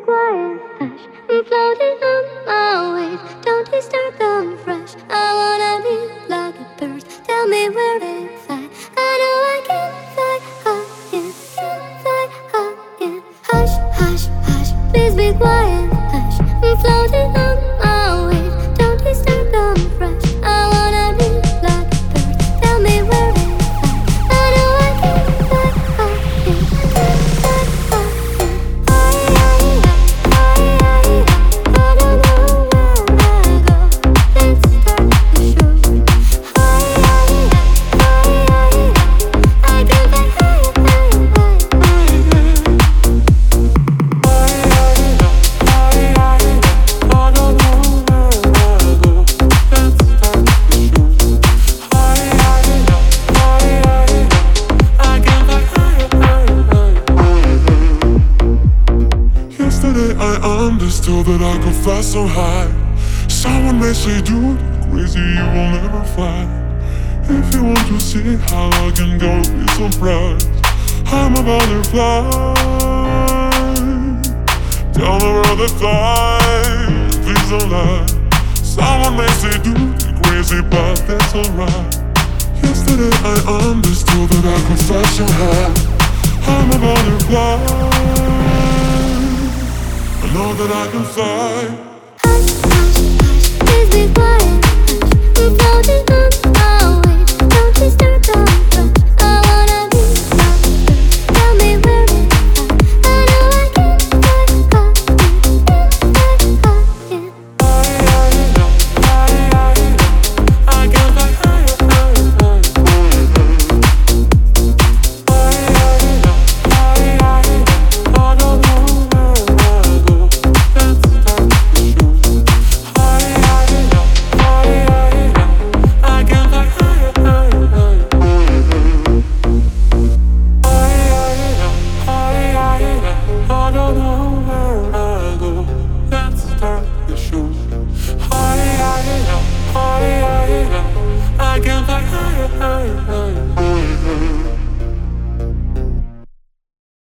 quiet, hush. I'm floating on my waves. Don't disturb the fresh. I wanna be like a bird. Tell me where they fly. I know I can fly high, yeah, can fly high, yeah. Hush, hush, hush. Please be quiet, hush. I'm floating on my waves. Don't disturb the fresh. I wanna be like a bird. Tell me where they fly. I know I can fly high, yeah, can fly high, yeah. I don't know where I go. Let's start the show. I can fly higher, higher, Yesterday I understood that I could fly so high. Someone may say, dude, crazy, you will never fly. If you want to see how I can go, be surprised. I'm a butterfly. Tell the world that fly, please don't lie. Someone may say, dude, you're crazy, but that's alright. Yesterday I understood that I could fly so high. I'm a butterfly. I know that I can fly. hush, hush, hush. Please be quiet, hush. I'm floating on my waves. Don't disturb the fresh. I wanna be like a bird. Tell me where they fly. I know I can fly high, yeah, can fly high, yeah. I can fly higher, higher, I don't know where I go. Let's start the show. I can fly higher, higher, I don't know where I go. Let's start the show. I can fly higher, higher.